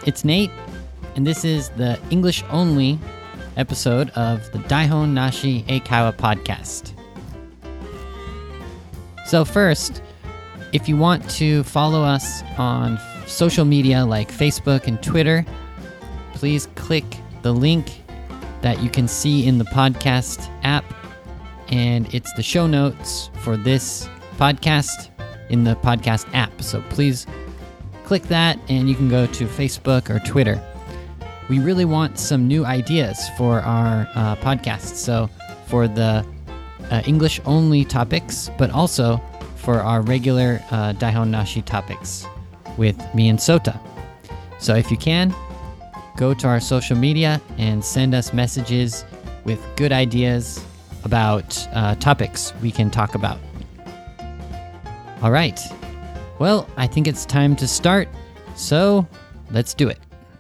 it's Nate, and this is the English-only episode of the Daihon Nashi Eikaiwa podcast. So first, if you want to follow us on social media like Facebook and Twitter, please click the link that you can see in the podcast app, and it's the show notes for this podcast in the podcast app. So please click that and you can go to Facebook or Twitter. We really want some new ideas for our podcast. So for the English-only topics, but also for our regular Daihon Nashi topics with me and Sota. So if you can, go to our social media and send us messages with good ideas about topics we can talk about. All right. Well, I think it's time to start, so let's do it.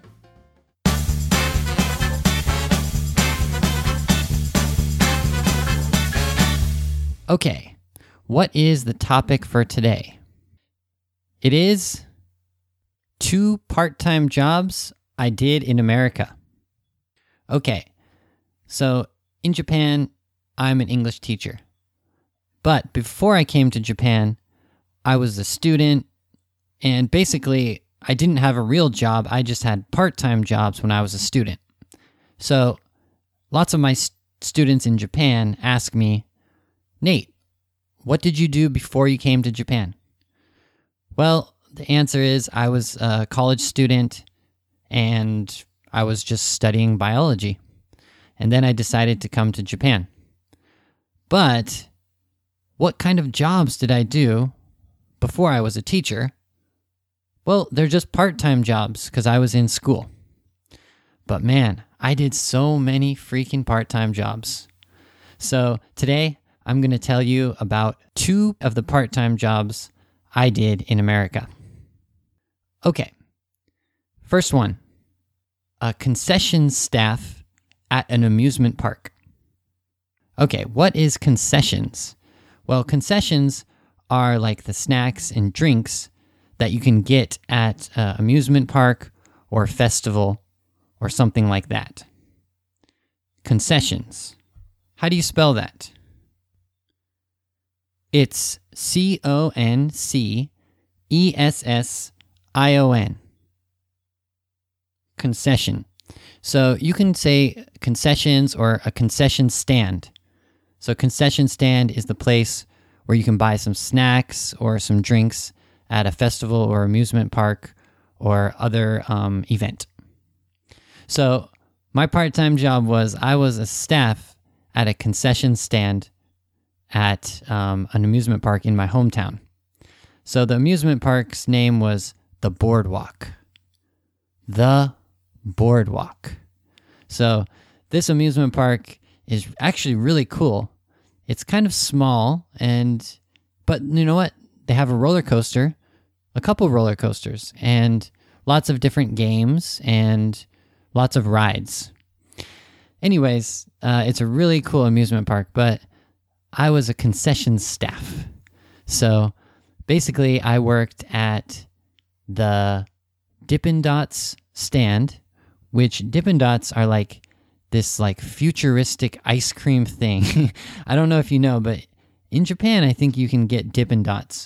Okay, what is the topic for today? It is 2 part-time jobs I did in America. Okay, so in Japan, I'm an English teacher. But before I came to Japan, I was a student, and basically, I didn't have a real job. I just had part-time jobs when I was a student. So lots of my students in Japan ask me, Nate, what did you do before you came to Japan? Well, the answer is I was a college student, and I was just studying biology. And then I decided to come to Japan. But what kind of jobs did I do before I was a teacher? Well, they're just part-time jobs because I was in school. But man, I did so many freaking part-time jobs. So today, I'm going to tell you about 2 of the part-time jobs I did in America. Okay, first one, a concession staff at an amusement park. Okay, what is concessions? Well, concessions are like the snacks and drinks that you can get at an amusement park or festival or something like that. Concessions. How do you spell that? It's CONCESSION. Concession. So you can say concessions or a concession stand. So concession stand is the place where you can buy some snacks or some drinks at a festival or amusement park or other event. So my part-time job was I was a staff at a concession stand at an amusement park in my hometown. So the amusement park's name was The Boardwalk. The Boardwalk. So this amusement park is actually really cool. It's kind of small, but you know what? They have a roller coaster, a couple roller coasters, and lots of different games and lots of rides. Anyways, it's a really cool amusement park, but I was a concession staff. So basically, I worked at the Dippin' Dots stand, which Dippin' Dots are like this like futuristic ice cream thing. I don't know if you know, but in Japan, I think you can get Dippin' Dots.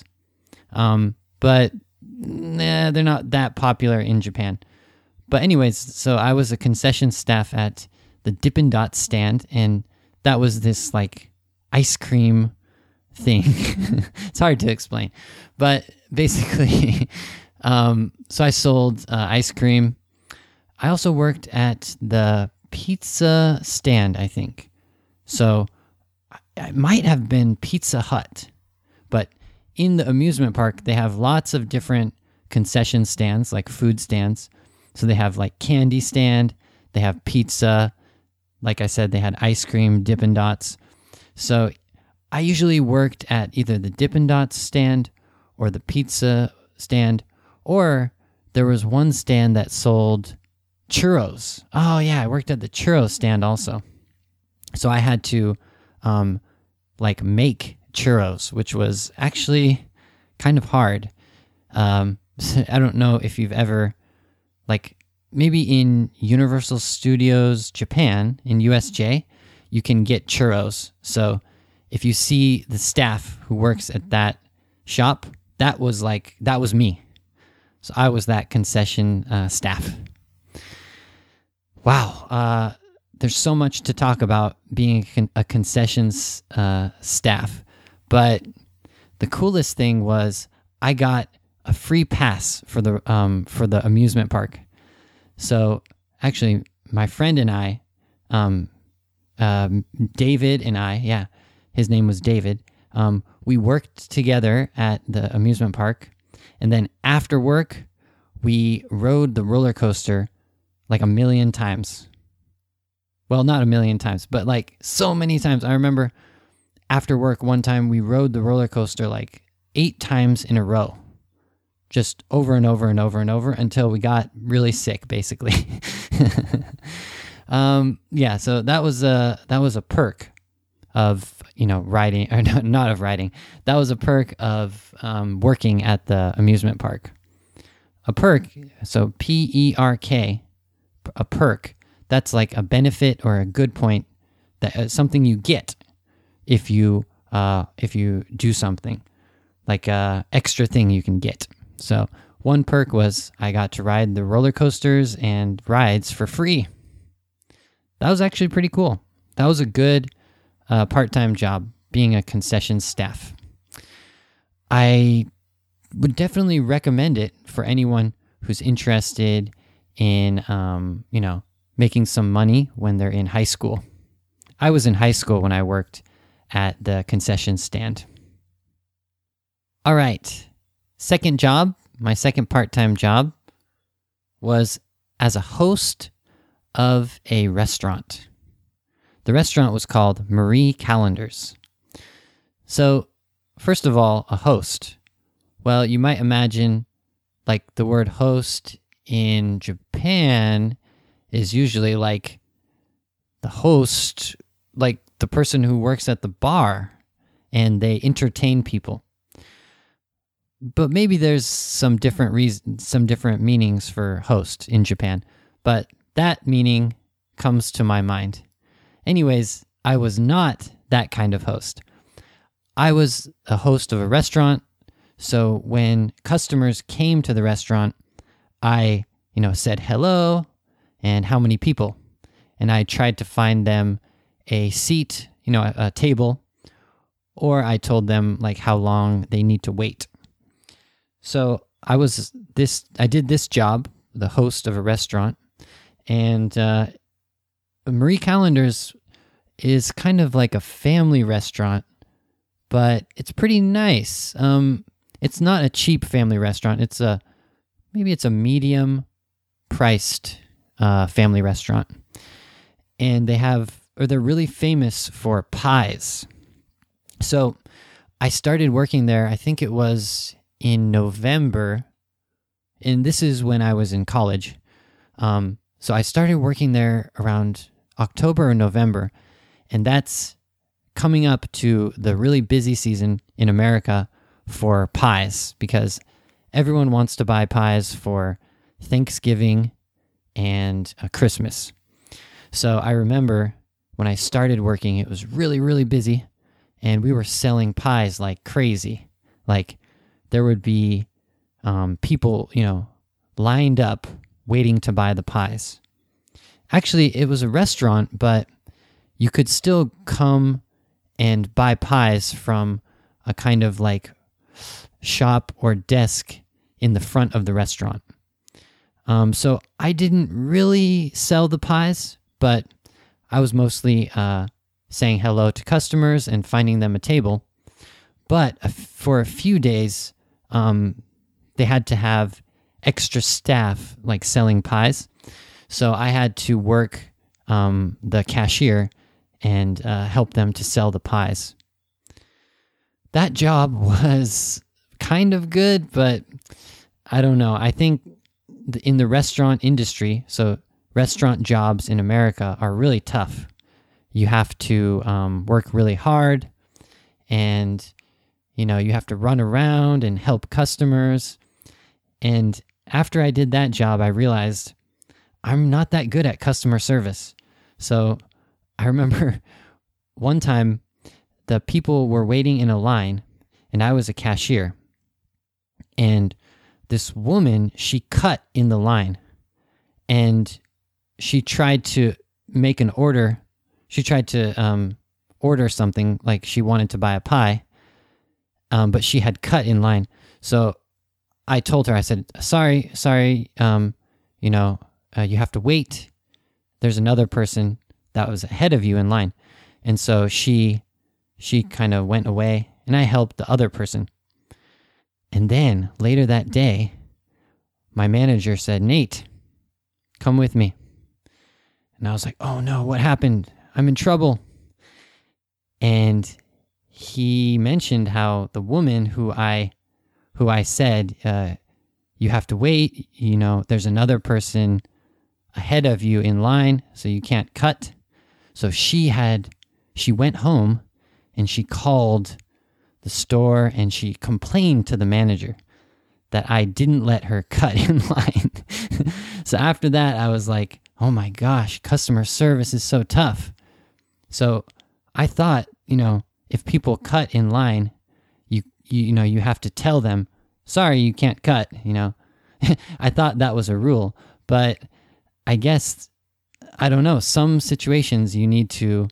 But they're not that popular in Japan. But anyways, so I was a concession staff at the Dippin' Dots stand, and that was this like ice cream thing. It's hard to explain. But basically, so I sold ice cream. I also worked at the pizza stand, I think. So it might have been Pizza Hut. But in the amusement park, they have lots of different concession stands, like food stands. So they have like candy stand, they have pizza. Like I said, they had ice cream, Dippin' Dots. So I usually worked at either the Dippin' Dots stand or the pizza stand, or there was one stand that sold churros. Oh yeah, I worked at the churros stand also. So I had to make churros, which was actually kind of hard. I don't know if you've ever maybe in Universal Studios Japan, in USJ, you can get churros. So if you see the staff who works at that shop, that was me. So I was that concession staff. Wow. There's so much to talk about being a concessions staff. But the coolest thing was I got a free pass for the amusement park. So actually, my friend and I, David and I, his name was David. We worked together at the amusement park, and then after work, we rode the roller coaster like 1 million times. Well, not 1 million times, but like so many times. I remember after work one time we rode the roller coaster like 8 times in a row, just over and over and over and over until we got really sick, basically. So that was a perk of riding, or not of riding. That was a perk of working at the amusement park. A perk, so PERK, a perk. That's like a benefit or a good point, that something you get if you do something, like a extra thing you can get. So one perk was I got to ride the roller coasters and rides for free. That was actually pretty cool. That was a good part-time job, being a concession staff. I would definitely recommend it for anyone who's interested in, making some money when they're in high school. I was in high school when I worked at the concession stand. All right. Second job, my second part-time job, was as a host of a restaurant. The restaurant was called Marie Callender's. So, first of all, a host. Well, you might imagine like the word host in Japan is usually like the host, like the person who works at the bar and they entertain people. But maybe there's some different meanings for host in Japan, but that meaning comes to my mind. Anyways, I was not that kind of host. I was a host of a restaurant, so when customers came to the restaurant, I, said hello and how many people, and I tried to find them a seat, a table, or I told them like how long they need to wait. So I did this job, the host of a restaurant, and Marie Callender's is kind of like a family restaurant, but it's pretty nice. It's not a cheap family restaurant. Maybe it's a medium priced family restaurant, and they're really famous for pies. So I started working there, I think it was in November, and this is when I was in college. So I started working there around October or November, and that's coming up to the really busy season in America for pies, because everyone wants to buy pies for Thanksgiving and Christmas. So I remember when I started working, it was really, really busy, and we were selling pies like crazy. Like there would be people, lined up waiting to buy the pies. Actually, it was a restaurant, but you could still come and buy pies from a kind of like shop or desk in the front of the restaurant. So I didn't really sell the pies, but I was mostly saying hello to customers and finding them a table. But for a few days, they had to have extra staff like selling pies. So I had to work the cashier and help them to sell the pies. That job was kind of good, but I don't know. I think in the restaurant industry, so restaurant jobs in America are really tough. You have to work really hard, and you have to run around and help customers. And after I did that job, I realized I'm not that good at customer service. So I remember one time the people were waiting in a line and I was a cashier. And this woman, she cut in the line and she tried to make an order. She tried to order something, like she wanted to buy a pie, but she had cut in line. So I told her, I said, sorry, you have to wait. There's another person that was ahead of you in line. And so she kind of went away and I helped the other person. And then later that day, my manager said, Nate, come with me. And I was like, oh no, what happened? I'm in trouble. And he mentioned how the woman who I said, you have to wait, there's another person ahead of you in line, so you can't cut. So she went home and she called the store and she complained to the manager that I didn't let her cut in line. So after that, I was like, oh my gosh, customer service is so tough. So I thought, if people cut in line, you have to tell them, sorry, you can't cut, I thought that was a rule, but I guess, I don't know, some situations you need to,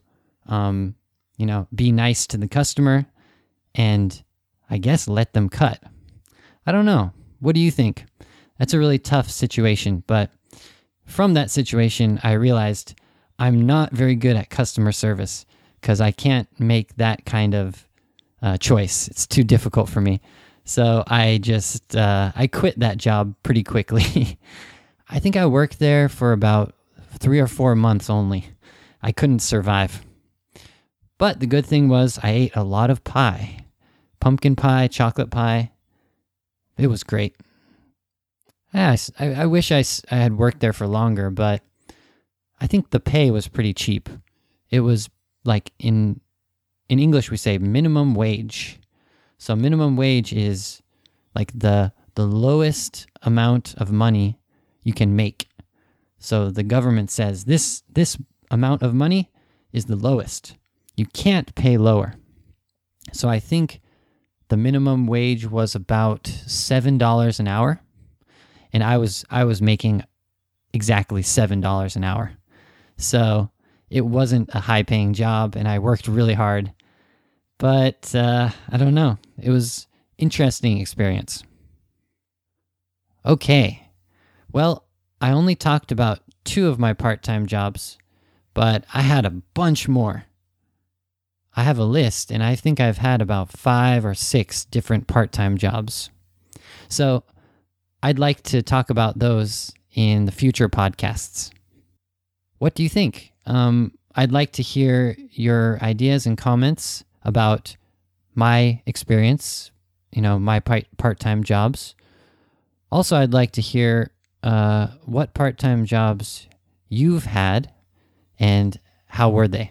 be nice to the customer and I guess let them cut. I don't know. What do you think? That's a really tough situation, but from that situation, I realized I'm not very good at customer service because I can't make that kind of choice. It's too difficult for me. So I just, I quit that job pretty quickly. I think I worked there for about 3 or 4 months only. I couldn't survive. But the good thing was I ate a lot of pie. Pumpkin pie, chocolate pie. It was great. Yeah, I wish I had worked there for longer, but I think the pay was pretty cheap. It was like in English we say minimum wage. So minimum wage is like the lowest amount of money you can make. So the government says this amount of money is the lowest. You can't pay lower. So I think the minimum wage was about $7 an hour. And I was making exactly $7 an hour. So it wasn't a high-paying job, and I worked really hard. But I don't know. It was interesting experience. Okay. Well, I only talked about 2 of my part-time jobs, but I had a bunch more. I have a list, and I think I've had about 5 or 6 different part-time jobs. So I'd like to talk about those in the future podcasts. What do you think? I'd like to hear your ideas and comments about my experience, my part-time jobs. Also, I'd like to hear what part-time jobs you've had and how were they?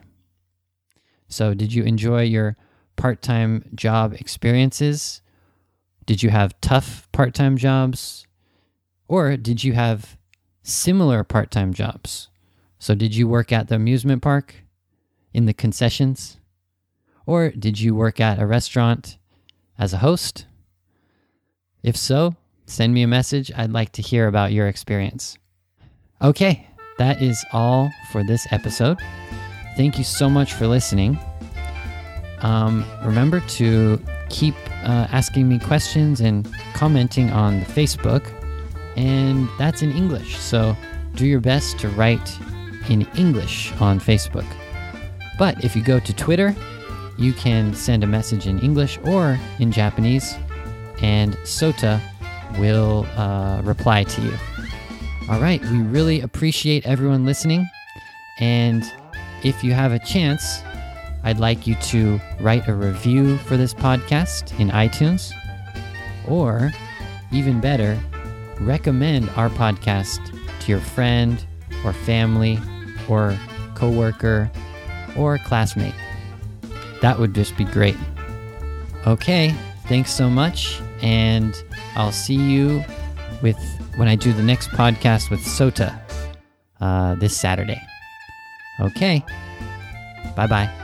So did you enjoy your part-time job experiences? Did you have tough part-time jobs? Or did you have similar part-time jobs? So did you work at the amusement park, in the concessions? Or did you work at a restaurant as a host? If so, send me a message. I'd like to hear about your experience. Okay, that is all for this episode. Thank you so much for listening. Remember to keep asking me questions and commenting on the Facebook, and that's in English. So do your best to write in English on Facebook. But if you go to Twitter, you can send a message in English or in Japanese, and Sota will reply to you. All right, we really appreciate everyone listening, and if you have a chance, I'd like you to write a review for this podcast in iTunes, or even better, recommend our podcast to your friend or family or coworker or classmate. That would just be great. Okay, thanks so much, and I'll see you when I do the next podcast with Sota. this Saturday. Okay. Bye-bye.